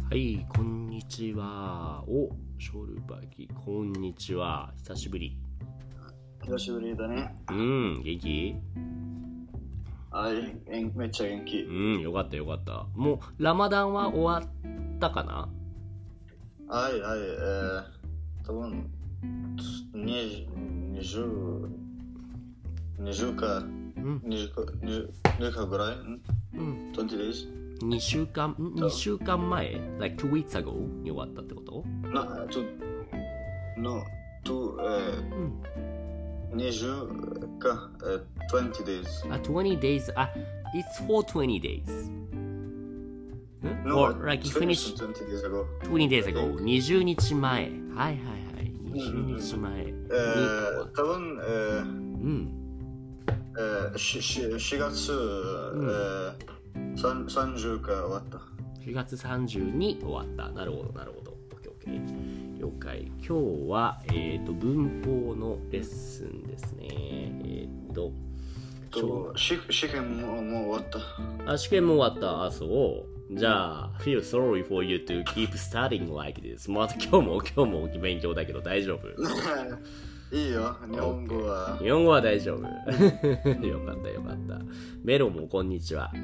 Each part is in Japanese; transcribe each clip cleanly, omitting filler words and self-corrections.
はい、こんにちは。お、ショルバギ、こんにちは。久しぶり。 久しぶりだね。 元気？ はい、めっちゃ元気。 よかったよかった。もう、ラマダンは終わったかな？ はい、多分20かぐらい？20 days？ 2週間前 like 2 weeks ago に終わったってこと？ 20か、20 days。 20 days. It's for 20 days. No, Or like you finished finished 20 days ago. 20 days ago. 20日前。はいはいはい。20日前に。 多分、4月、30か終わった。 4月30に終わった。なるほどなるほど。OK。了解。今日は、文法のレッスンですね。 試験も終わった。 試験も終わった。あ、そう。じゃあ、feel sorry for you to keep studying like this. また今日も勉強だけど大丈夫？ いいよ、日本語は。 日本語は大丈夫。よかったよかった。メロもこんにちは。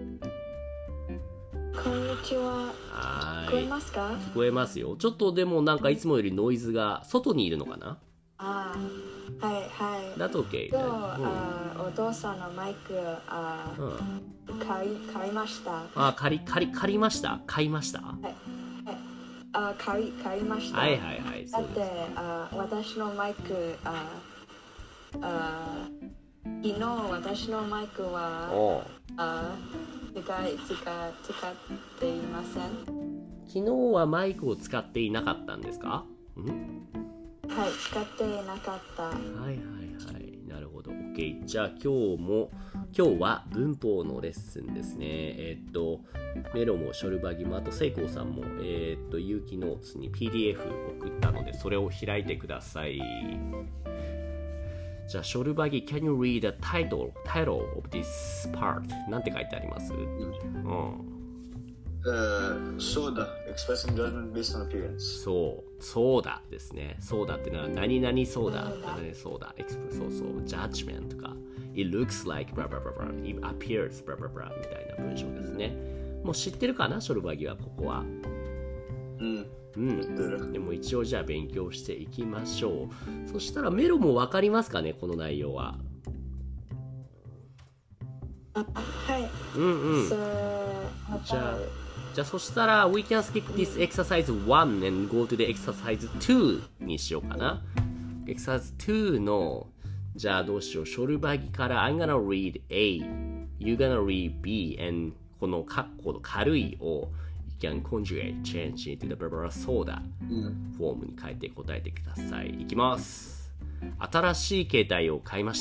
こんにちは。聞こえますか？ 聞こえますよ。ちょっとでもなんかいつもよりノイズが外にいるのかな？ はいはい。 だと OK。 お父さんのマイク買いました。 借りました？買いました？ 買いました。 はいはいはい。 だって私のマイク昨日私のマイクは使っていません。 昨日はマイクを使っていなかったんですか？ はい、使っていなかった。 はいはいはい。なるほど。OK。じゃあ今日は文法のレッスンですね。メロもショルバギもあとセイコーさんも有機ノーツに PDF 送ったのでそれを開いてください。じゃあショルバギ Can you read the title of this part? なんて書いてあります？ そうだ expressing judgment based on appearance。 そうだですね。そうだってのは何々そうだそうだそうjudgment とか it looks like blah blah blah blah it appears blah blah blah みたいな文章ですね。もう知ってるかなショルバギはここは。でも一応じゃあ勉強していきましょう。そしたらメロも分かりますかねこの内容は。 はい。 じゃあそしたら we can skip this exercise 1 and go to the exercise 2にしようかな。exercise 2のじゃあどうしよう。ショルバギから I'm gonna read A you gonna read B and このカッコの軽いを you can conjugate change into the verb soda フォームに変えて答えてください。いきます。新しい携帯を買いました。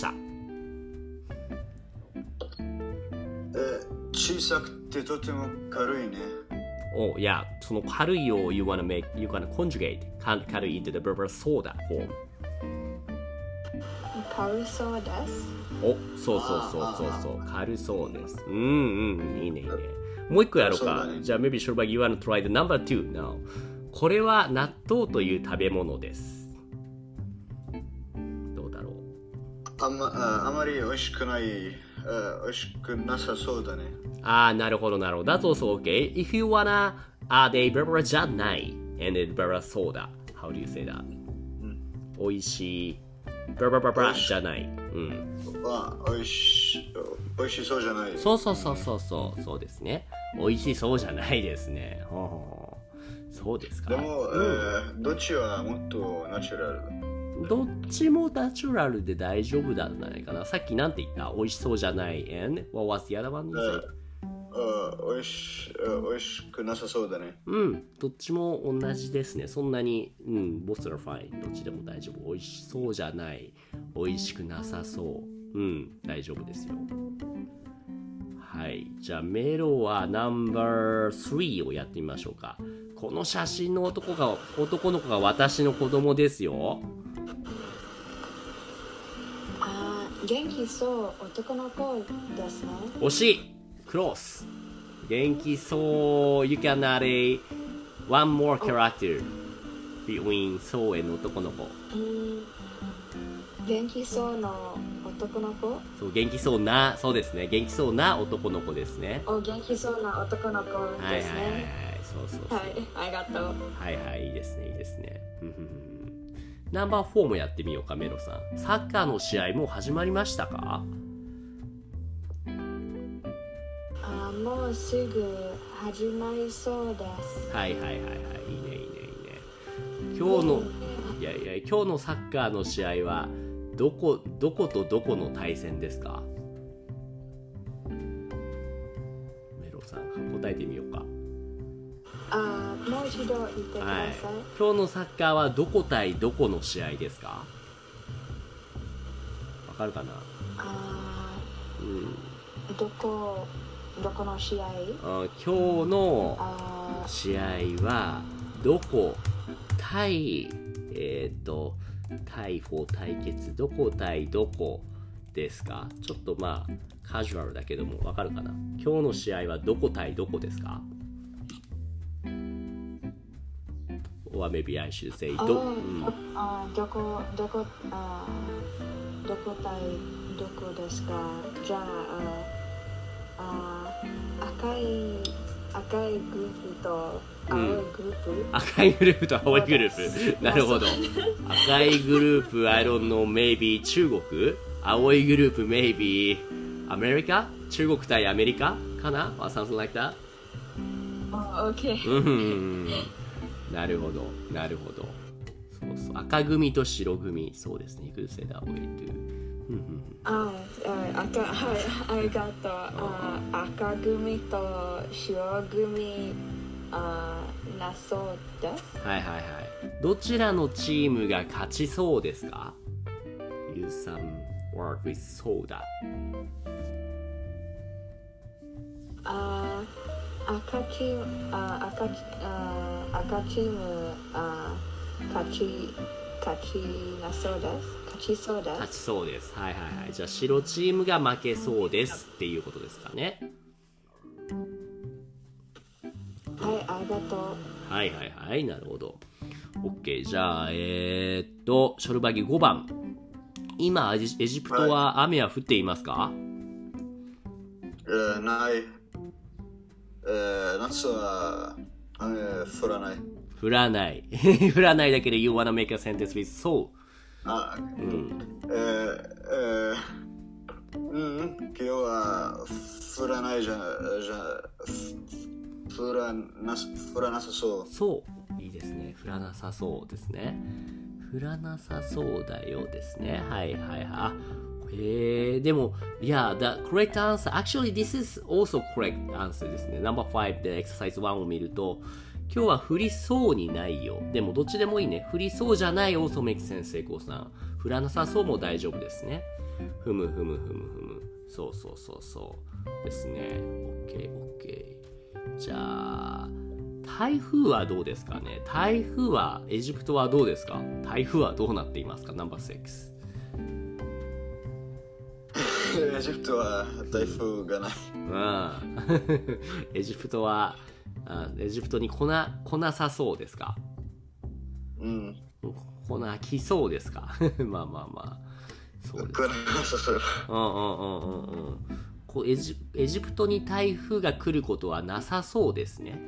小さくてとても軽いね。 いや、その軽いを you wanna conjugate 軽い into the verb soda form。 軽そうです。 そう軽そうです。いいね。もう一個やろうか。じゃあ maybe Shorba you wanna try the number 2 now。これは納豆という食べ物です。どうだろう。 あまり美味しくない。美味しくなさそうだね。 なるほど。That's also okay. If you wanna add a verb じゃない and a verb soda. How do you say that? 美味しい verb じゃない。 美味しそうじゃない。 そうですね。美味しそうじゃないですね。そうですか。 でも、どっちはもっとナチュラル？ どっちもナチュラルで大丈夫なんじゃないかな。さっきなんて言った？美味しそうじゃない and what was the other one you said? 美味しくなさそうだね。 どっちも同じですね。そんなにboth are fine。どっちでも大丈夫。美味しそうじゃない、美味しくなさそう。大丈夫ですよ。はい。じゃあメロはナンバー3をやってみましょうか。この写真の男の子が私の子供ですよ。 元気そう男の子ですね。 惜しい。クロス。元気そう。You can add a one more character between そうの男の子。 元気そうの男の子。 そう、元気そうな、そうですね。元気そうな男の子ですね。 元気そうな男の子ですね。 はいはいはいはい。そうそうそう。 はい、ありがとう。 はいはい、いいですね、いいですね。ナンバー4もやってみようか、メロさん。サッカーの試合もう始まりましたか？ もうすぐ始まりそうです。 はいはいはいはい、いいねいいねいいね。今日の、今日のサッカーの試合はどことどこの対戦ですか？メロさん、答えてみようか。 もう一度言ってください。はい、 今日のサッカーはどこ対どこの試合ですか？わかるかな？ どこの試合？ 今日の試合はどこ対対決どこ対どこですか？ちょっとまあカジュアルだけどもわかるかな？今日の試合はどこ対どこですか？Or maybe I should say どこ対どこですか？じゃあ赤いグループと青いグループ、 赤いグループと青いグループなるほど。赤いグループ I don't know maybe 中国、青いグループ maybe アメリカ、中国対アメリカかな or something like that。 OK なるほどなるほど。そうそう、赤組と白組、そうですね。You could say that way too。 ありがとう。赤組と白組なそうです。 はいはいはい。どちらのチームが勝ちそうですか？ Use some word with そうだ。 赤チーム勝ちそうです。 勝ちそうです。はいはいはい。じゃあ白チームが負けそうですっていうことですかね。 はい、ありがとう。 はいはいはい、なるほど。OK、じゃあショルバギ5番。今エジプトは雨は降っていますか？ ない。夏は雨降らない。降らない。 降らないだけで You wanna make a sentence with so。 今日は降らない降らなさそう。 そう。いいですね。降らなさそうですね。降らなさそうだよですね。はいはいはい。でも、Yeah, the correct answer. Actually, this is also correct answer ですね。Number 5で exercise 1を見ると、今日は降りそうにないよ。でもどっちでもいいね。降りそうじゃない also makes sense 成功さん。降らなさそうも大丈夫ですね。ふむ。そうですね。OK。じゃあ、台風はどうですかね。台風は、エジプトはどうですか？台風はどうなっていますか？ No.6。 エジプトは台風がない。 エジプトは、エジプトに来なさそうですか？来そうですか？まあそうです。エジプトに台風が来ることはなさそうですね。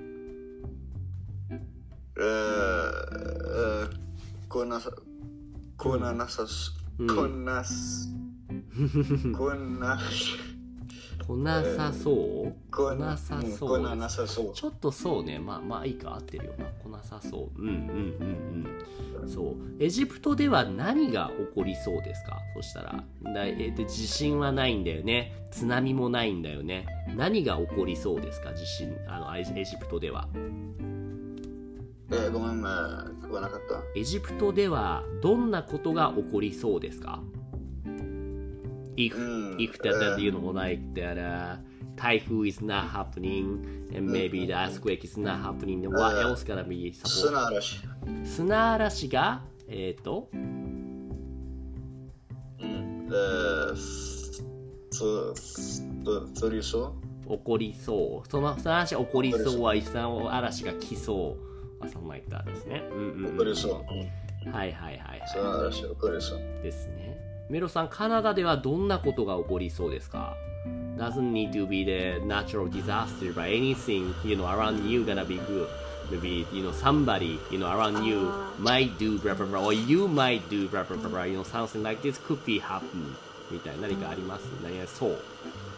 来なさそう。 ちょっとそうね。まあいいか、合ってるよな。来なさそう。そう。エジプトでは何が起こりそうですか？そしたら、地震はないんだよね。津波もないんだよね。何が起こりそうですか？地震、エジプトでは。 ごめん、聞こえなかった。 エジプトではどんなことが起こりそうですか？If that like that typhoon is not happening and maybe the earthquake is not happening, then what else gonna be support? 砂嵐が降りそう。 起こりそう。その砂嵐起こりそうは砂嵐が来そう。 something like that ですね。 怒りそう。 はいはいはいはい。 そうなんですよ、怒りそう。 ですね。メロさん、カナダではどんなことが起こりそうですか？ Doesn't need to be the natural disaster, but anything, around you gonna be good. Maybe, somebody, around you might do blah blah blah, or you might do blah blah blah, something like this could be happen. みたいな何かあります？何がそう？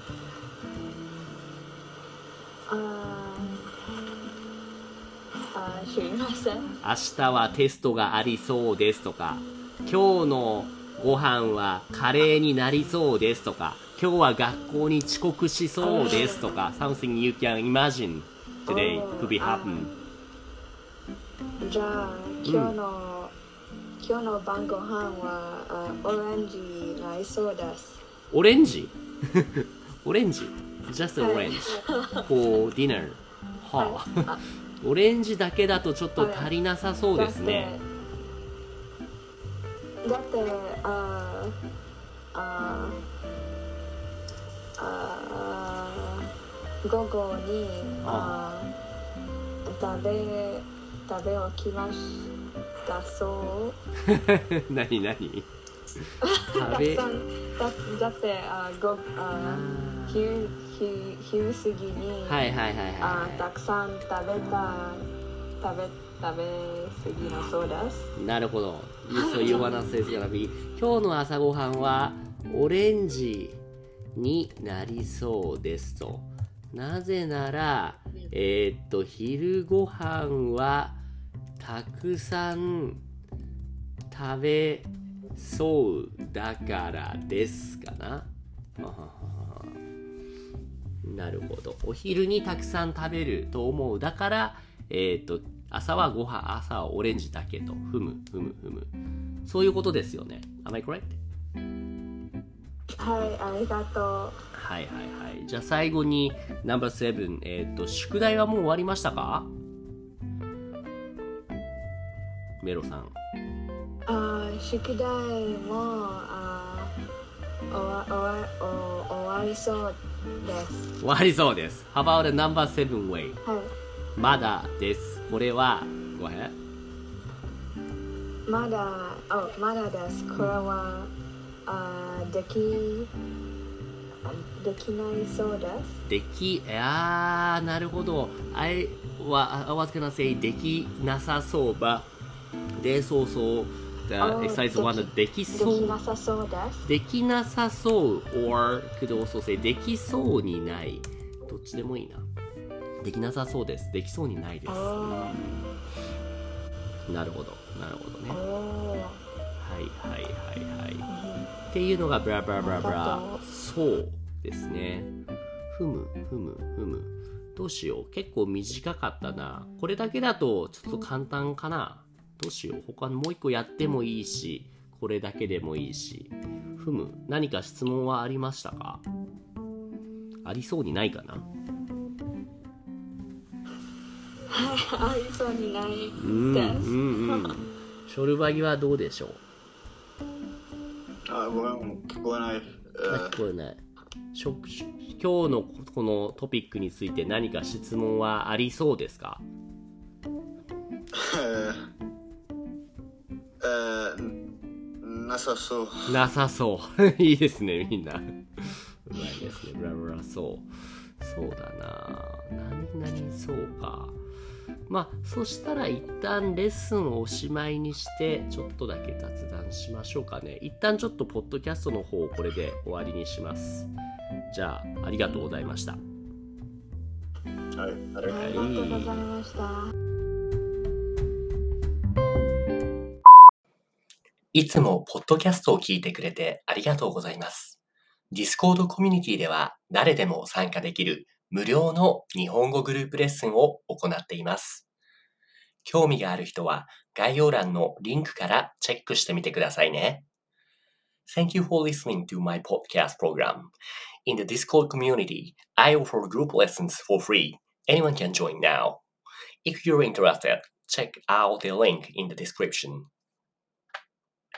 知りません。 明日はテストがありそうですとか、今日のご飯はカレーになりそうですとか、今日は学校に遅刻しそうですとか、something you can imagine today could be happen. じゃあ今日の晩ご飯はオレンジになりそうです。 オレンジオレンジ Just orange for dinner. はあオレンジだけだとちょっと足りなさそうですね。 だって午後に食べ起きましたそう。 何だって昼過ぎにたくさん食べ過ぎのそうです。 なるほど。そういう話ですから、今日の朝ごはんはオレンジになりそうですと。なぜなら、昼ごはんはたくさん食べそうだからですかな。なるほど。お昼にたくさん食べると思う。だから、朝はオレンジだけと。ふむ。そういうことですよね。Am I correct? はい、ありがとう。 はい。じゃあ最後に No.7、宿題はもう終わりましたか？メロさん。 宿題も終わりそうです。 終わりそうです。How about the No.7 way? はい。 まだです。これは、Go ahead. まだです。これはできないそうです。 なるほど。I was gonna say できなさそうば。で、そう。The exercise 1できそう。 できなさそうです。 できなさそう or could also say できそうにない。どっちでもいいな。できなさそうです。できそうにないです。なるほどね。はい。っていうのがブラブラそうですね。ふむ。どうしよう。結構短かったな。これだけだとちょっと簡単かな。どうしよう。他のもう一個やってもいいし、これだけでもいいし。ふむ。何か質問はありましたか？ありそうにないかな？ ありそうにないです。 ショルバギはどうでしょう？ ごめん、聞こえない。 聞こえない。今日のこのトピックについて何か質問はありそうですか？ なさそう。 なさそう。いいですね、みんな。うまいですね。ブラブラそう。そうだな。何そうか。まあ、そしたら一旦レッスンをおしまいにして、ちょっとだけ雑談しましょうかね。一旦ちょっとポッドキャストの方をこれで終わりにします。じゃあ、ありがとうございました。 はい、 ありがとうございました。 いつもポッドキャストを聞いてくれてありがとうございます。Discord コミュニティでは誰でも参加できる無料の日本語グループレッスンを行っています。興味がある人は概要欄のリンクからチェックしてみてくださいね。Thank you for listening to my podcast program. In the Discord community, I offer group lessons for free. Anyone can join now. If you're interested, check out the link in the description.